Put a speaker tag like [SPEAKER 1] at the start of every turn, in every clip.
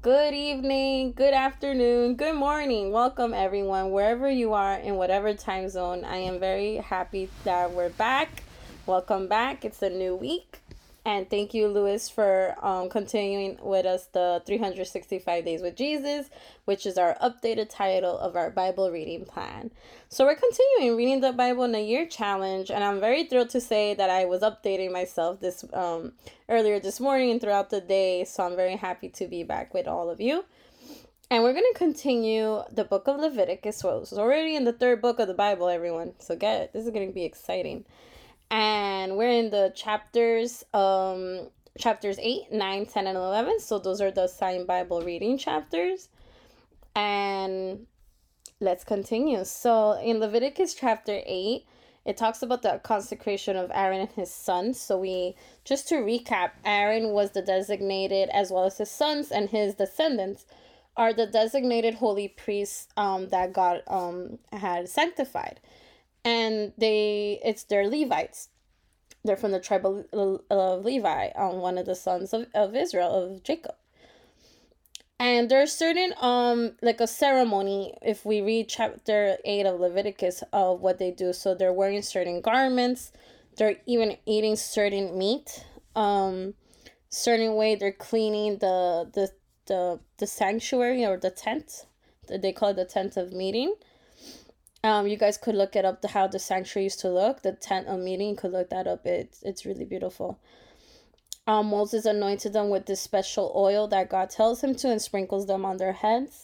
[SPEAKER 1] Good evening, good afternoon, good morning. Welcome, everyone, wherever you are in whatever time zone. I am very happy that we're back. Welcome back. It's a new week. And thank you, Lewis, for continuing with us the 365 Days with Jesus, which is our updated title of our Bible reading plan. So we're continuing reading the Bible in a year challenge, and I'm very thrilled to say that I was updating myself this earlier this morning and throughout the day. So I'm very happy to be back with all of you. And we're going to continue the book of Leviticus. So it's already in the third book of the Bible, everyone. So get it. This is going to be exciting. And we're in the chapters 8, 9, 10, and 11. So those are the assigned Bible reading chapters. And let's continue. So in Leviticus chapter 8, it talks about the consecration of Aaron and his sons. So just to recap, Aaron was the designated, as well as his sons and his descendants are the designated holy priests that God had sanctified. And they're Levites. They're from the tribe of Levi, one of the sons of Israel, of Jacob. And there's certain like a ceremony, if we read chapter 8 of Leviticus, of what they do. So they're wearing certain garments, they're even eating certain meat, certain way they're cleaning the sanctuary or the tent. They call it the tent of meeting. You guys could look it up, how the sanctuary used to look, the tent of meeting. You could look that up. It's really beautiful. Moses anointed them with this special oil that God tells him to, and sprinkles them on their heads.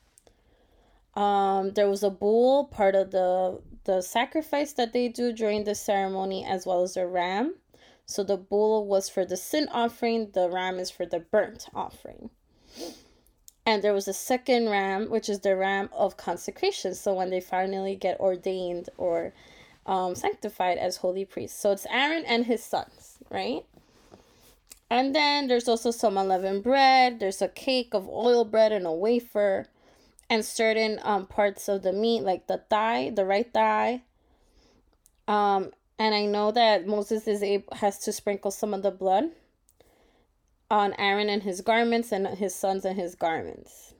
[SPEAKER 1] There was a bull, part of the sacrifice that they do during the ceremony, as well as a ram. So the bull was for the sin offering, the ram is for the burnt offering. And there was a second ram, which is the ram of consecration. So when they finally get ordained or sanctified as holy priests. So it's Aaron and his sons, right? And then there's also some unleavened bread. There's a cake of oil bread and a wafer. And certain parts of the meat, like the right thigh. And I know that Moses has to sprinkle some of the blood on Aaron and his garments, and his sons and his garments.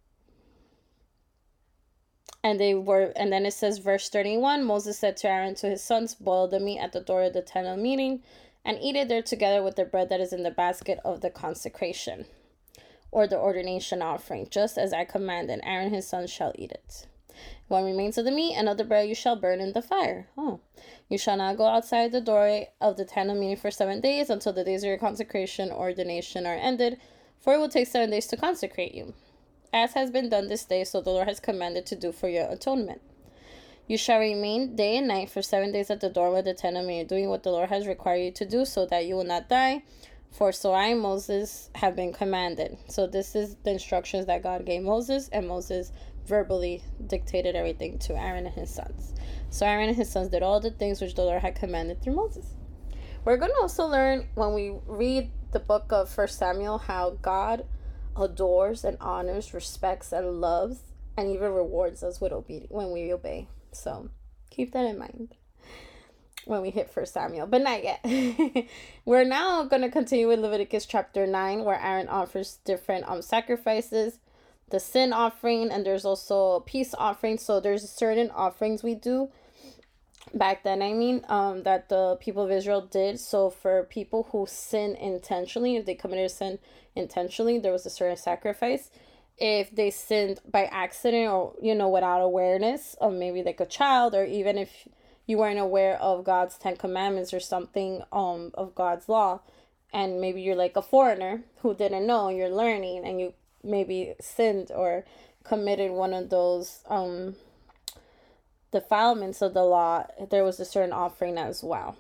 [SPEAKER 1] And then it says, verse 31, Moses said to Aaron, to his sons, boil the meat at the door of the tent of meeting, and eat it there together with the bread that is in the basket of the consecration, or the ordination offering, just as I commanded. Aaron and his sons shall eat it. What remains of the meat and of the bread you shall burn in the fire. You shall not go outside the door of the tent of meeting for 7 days, until the days of your consecration or ordination are ended, for it will take 7 days to consecrate you, as has been done this day, so the Lord has commanded to do for your atonement. You shall remain day and night for 7 days at the door of the tent of meeting, doing what the Lord has required you to do, so that you will not die. For so I, Moses, have been commanded. So this is the instructions that God gave Moses, and Moses verbally dictated everything to Aaron and his sons. So Aaron and his sons did all the things which the Lord had commanded through Moses. We're going to also learn, when we read the book of 1 Samuel, how God adores and honors, respects and loves, and even rewards us with obedience when we obey. So keep that in mind when we hit 1 Samuel, but not yet. We're now going to continue with Leviticus chapter 9, where Aaron offers different sacrifices, the sin offering, and there's also a peace offering. So there's certain offerings we do back then, that the people of Israel did. So for people who sin intentionally, if they committed a sin intentionally, there was a certain sacrifice. If they sinned by accident, or without awareness of, maybe like a child, or even if you weren't aware of God's 10 commandments or something of God's law, and maybe you're like a foreigner who didn't know, and you're learning, and you maybe sinned or committed one of those defilements of the law, there was a certain offering as well.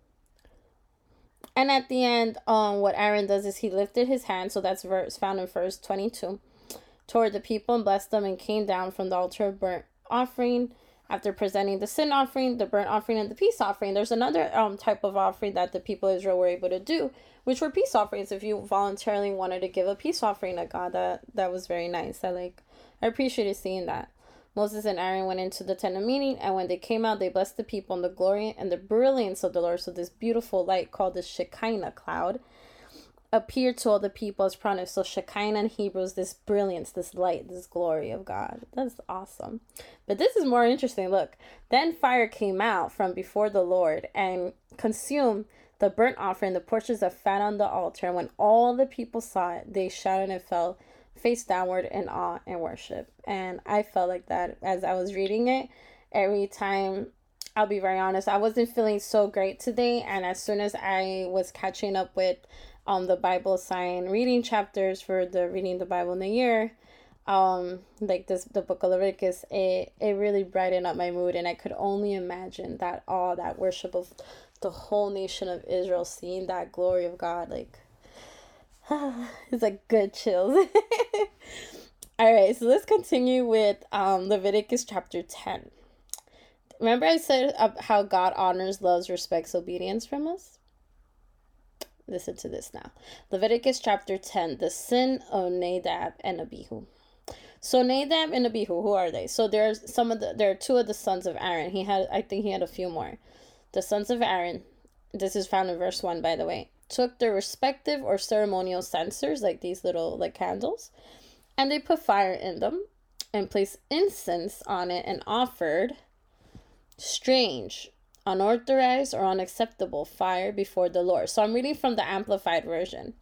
[SPEAKER 1] And at the end, what Aaron does is he lifted his hand, so that's found in verse 22, toward the people and blessed them, and came down from the altar of burnt offering. After presenting the sin offering, the burnt offering, and the peace offering, there's another type of offering that the people of Israel were able to do, which were peace offerings. If you voluntarily wanted to give a peace offering to God, that was very nice. I appreciated seeing that. Moses and Aaron went into the tent of meeting, and when they came out, they blessed the people in the glory and the brilliance of the Lord. So this beautiful light called the Shekinah cloud appeared to all the people as prominent. So Shekinah in Hebrew is this brilliance, this light, this glory of God. That's awesome. But this is more interesting. Look, then fire came out from before the Lord and consumed the burnt offering, the portions of fat on the altar. And when all the people saw it, they shouted and fell face downward in awe and worship. And I felt like that as I was reading it. Every time, I'll be very honest, I wasn't feeling so great today. And as soon as I was catching up with the Bible sign reading chapters for the reading the Bible in the year, like the book of Leviticus, it really brightened up my mood, and I could only imagine that awe, that worship of the whole nation of Israel, seeing that glory of God, like it's like good chills. All right, so let's continue with Leviticus chapter 10. Remember I said how God honors, loves, respects obedience from us? Listen to this now. Leviticus chapter 10, the sin of Nadab and Abihu. So Nadab and Abihu, who are they? So there are two of the sons of Aaron. I think he had a few more. The sons of Aaron, this is found in verse 1, by the way, took their respective or ceremonial censers, like these little like candles, and they put fire in them and placed incense on it and offered strange, unauthorized, or unacceptable fire before the Lord. So I'm reading from the Amplified Version.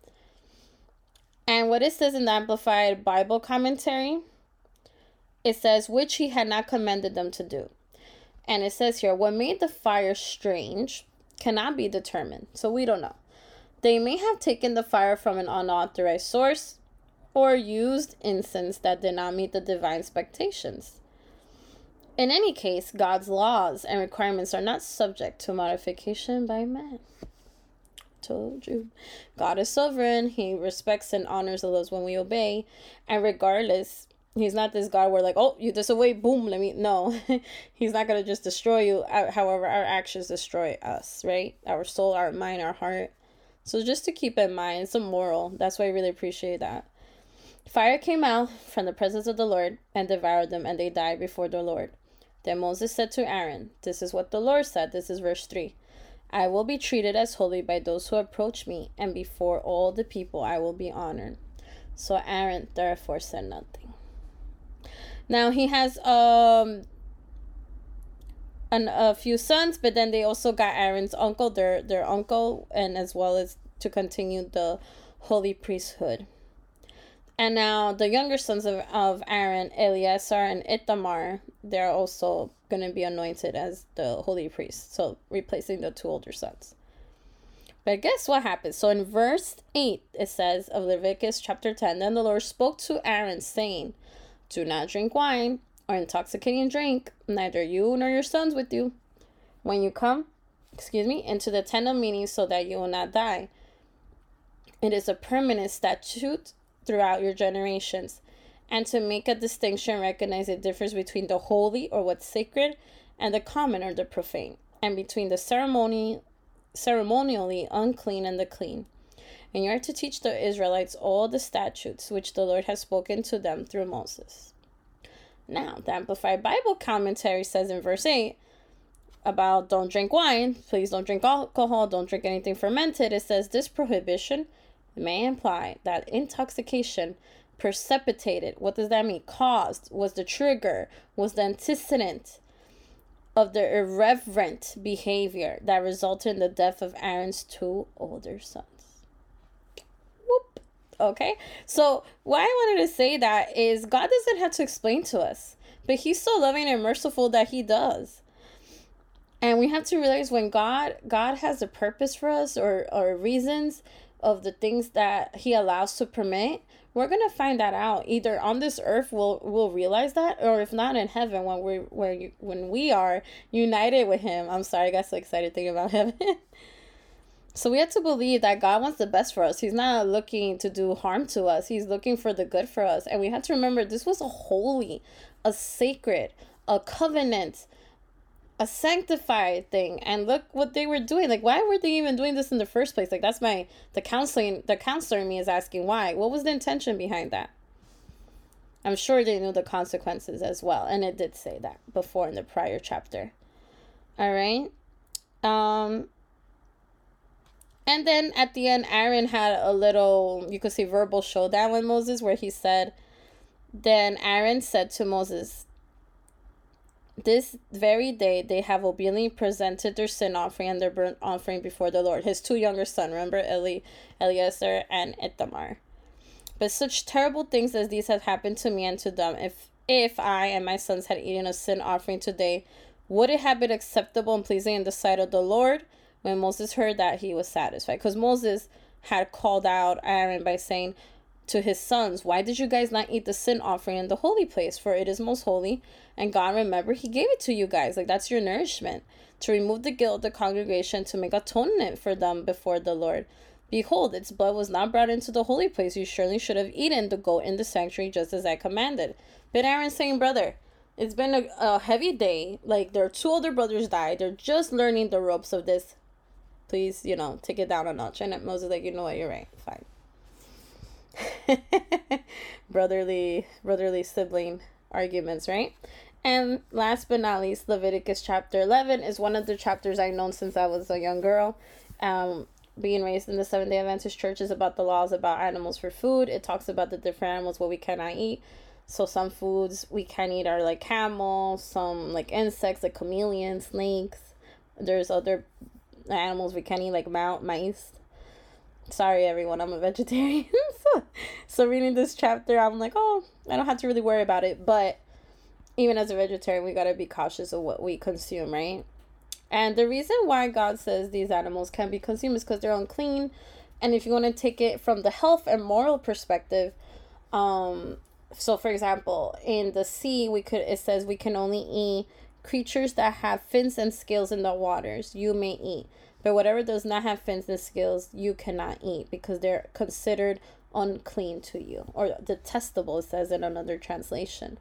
[SPEAKER 1] And what it says in the Amplified Bible Commentary, it says, which he had not commanded them to do. And it says here, what made the fire strange cannot be determined. So we don't know. They may have taken the fire from an unauthorized source or used incense that did not meet the divine expectations. In any case, God's laws and requirements are not subject to modification by man. Told you. God is sovereign. He respects and honors those when we obey. And regardless, he's not this God where like, oh, you disobey, boom, no. He's not going to just destroy you. However, our actions destroy us, right? Our soul, our mind, our heart. So just to keep in mind, it's a moral. That's why I really appreciate that. Fire came out from the presence of the Lord and devoured them, and they died before the Lord. Then Moses said to Aaron, this is what the Lord said. This is verse 3. I will be treated as holy by those who approach me, and before all the people I will be honored. So Aaron therefore said nothing. Now he has a few sons, but then they also got Aaron's uncle, their uncle, and as well as to continue the holy priesthood. And now the younger sons of Aaron, Eleazar and Ithamar, they're also going to be anointed as the holy priests. So replacing the two older sons. But guess what happens? So in verse 8, it says of Leviticus chapter 10, then the Lord spoke to Aaron saying, do not drink wine or intoxicating drink, neither you nor your sons with you, when you come, into the tent of meeting, so that you will not die. It is a permanent statute throughout your generations, and to make a distinction, recognize the difference between the holy or what's sacred and the common or the profane, and between the ceremonially unclean and the clean. And you are to teach the Israelites all the statutes which the Lord has spoken to them through Moses. Now, the Amplified Bible Commentary says in verse 8 about don't drink wine, please don't drink alcohol, don't drink anything fermented. It says this prohibition may imply that intoxication precipitated, what does that mean? Caused, was the trigger, was the antecedent of the irreverent behavior that resulted in the death of Aaron's two older sons. Whoop. Okay, so why I wanted to say that is God doesn't have to explain to us, but he's so loving and merciful that he does. And we have to realize when God has a purpose for us or reasons of the things that he allows to permit, we're going to find that out. Either on this earth we'll realize that, or if not in heaven when we are united with him. I'm sorry, I got so excited thinking about heaven. So we have to believe that God wants the best for us. He's not looking to do harm to us. He's looking for the good for us. And we have to remember this was a holy, a sacred, a covenant, a sanctified thing. And look what they were doing. Like, why were they even doing this in the first place? Like, that's the counselor in me is asking why. What was the intention behind that? I'm sure they knew the consequences as well. And it did say that before in the prior chapter. All right. And then at the end, Aaron had a little, you could say, verbal showdown with Moses, where he said, then Aaron said to Moses, this very day they have obediently presented their sin offering and their burnt offering before the Lord. His two younger sons, remember, Eleazar and Ithamar. But such terrible things as these have happened to me and to them. If I and my sons had eaten a sin offering today, would it have been acceptable and pleasing in the sight of the Lord? When Moses heard that, he was satisfied. Because Moses had called out Aaron by saying to his sons, why did you guys not eat the sin offering in the holy place? For it is most holy. And God, remember, he gave it to you guys. Like, that's your nourishment. To remove the guilt of the congregation, to make atonement for them before the Lord. Behold, its blood was not brought into the holy place. You surely should have eaten the goat in the sanctuary just as I commanded. But Aaron's saying, brother, it's been a heavy day. Like, their two older brothers died. They're just learning the ropes of this. Please, take it down a notch. And Moses like, you know what, you're right. Fine. brotherly sibling arguments, right? And last but not least, Leviticus chapter 11 is one of the chapters I've known since I was a young girl. Being raised in the Seventh-day Adventist church is about the laws about animals for food. It talks about the different animals what we cannot eat. So some foods we can eat are like camels, some like insects like chameleons, snakes. There's other animals we can eat like mice. Sorry everyone, I'm a vegetarian. so reading this chapter, I'm like, oh, I don't have to really worry about it. But even as a vegetarian, we gotta be cautious of what we consume, right? And the reason why God says these animals can be consumed is because they're unclean. And if you want to take it from the health and moral perspective, so for example, in the sea, it says we can only eat creatures that have fins and scales in the waters. You may eat. But whatever does not have fins and scales, you cannot eat because they're considered unclean to you. Or detestable, it says in another translation.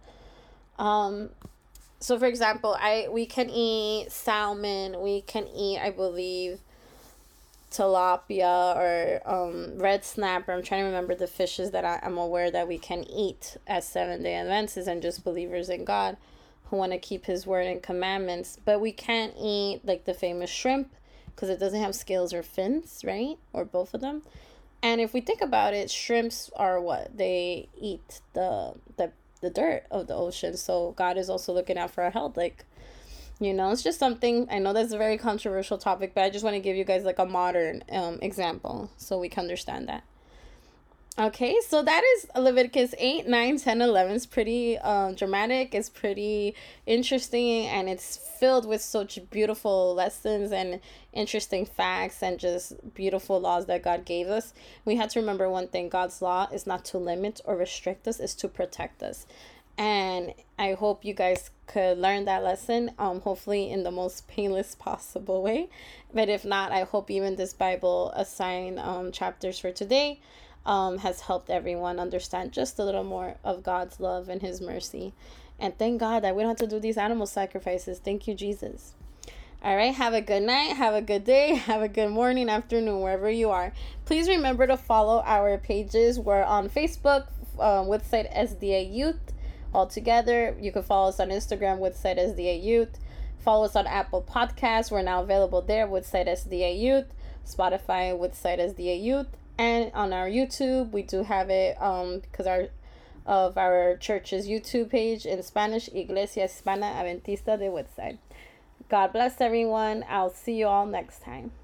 [SPEAKER 1] So for example, we can eat salmon, we can eat, I believe, tilapia or red snapper. I'm trying to remember the fishes that I'm aware that we can eat as Seventh-day Adventists and just believers in God who want to keep his word and commandments. But we can't eat like the famous shrimp because it doesn't have scales or fins, right? Or both of them. And if we think about it, shrimps are what? They eat the dirt of the ocean. So God is also looking out for our health. Like, it's just something, I know that's a very controversial topic, but I just want to give you guys like a modern example so we can understand that. Okay, so that is Leviticus 8, 9, 10, 11. It's pretty dramatic. It's pretty interesting, and it's filled with such beautiful lessons and interesting facts and just beautiful laws that God gave us. We have to remember one thing. God's law is not to limit or restrict us. It's to protect us. And I hope you guys could learn that lesson, hopefully in the most painless possible way. But if not, I hope even this Bible assigned chapters for today has helped everyone understand just a little more of God's love and his mercy. And thank God that we don't have to do these animal sacrifices. Thank you, Jesus. All right, have a good night, have a good day, have a good morning, afternoon, wherever you are. Please remember to follow our pages. We're on Facebook, Woodside SDA Youth, all together. You can follow us on Instagram, Woodside SDA Youth. Follow us on Apple Podcasts. We're now available there, Woodside SDA Youth. Spotify, Woodside SDA Youth. And on our YouTube, we do have it because our church's YouTube page in Spanish, Iglesia Hispana Adventista de Woodside. God bless everyone. I'll see you all next time.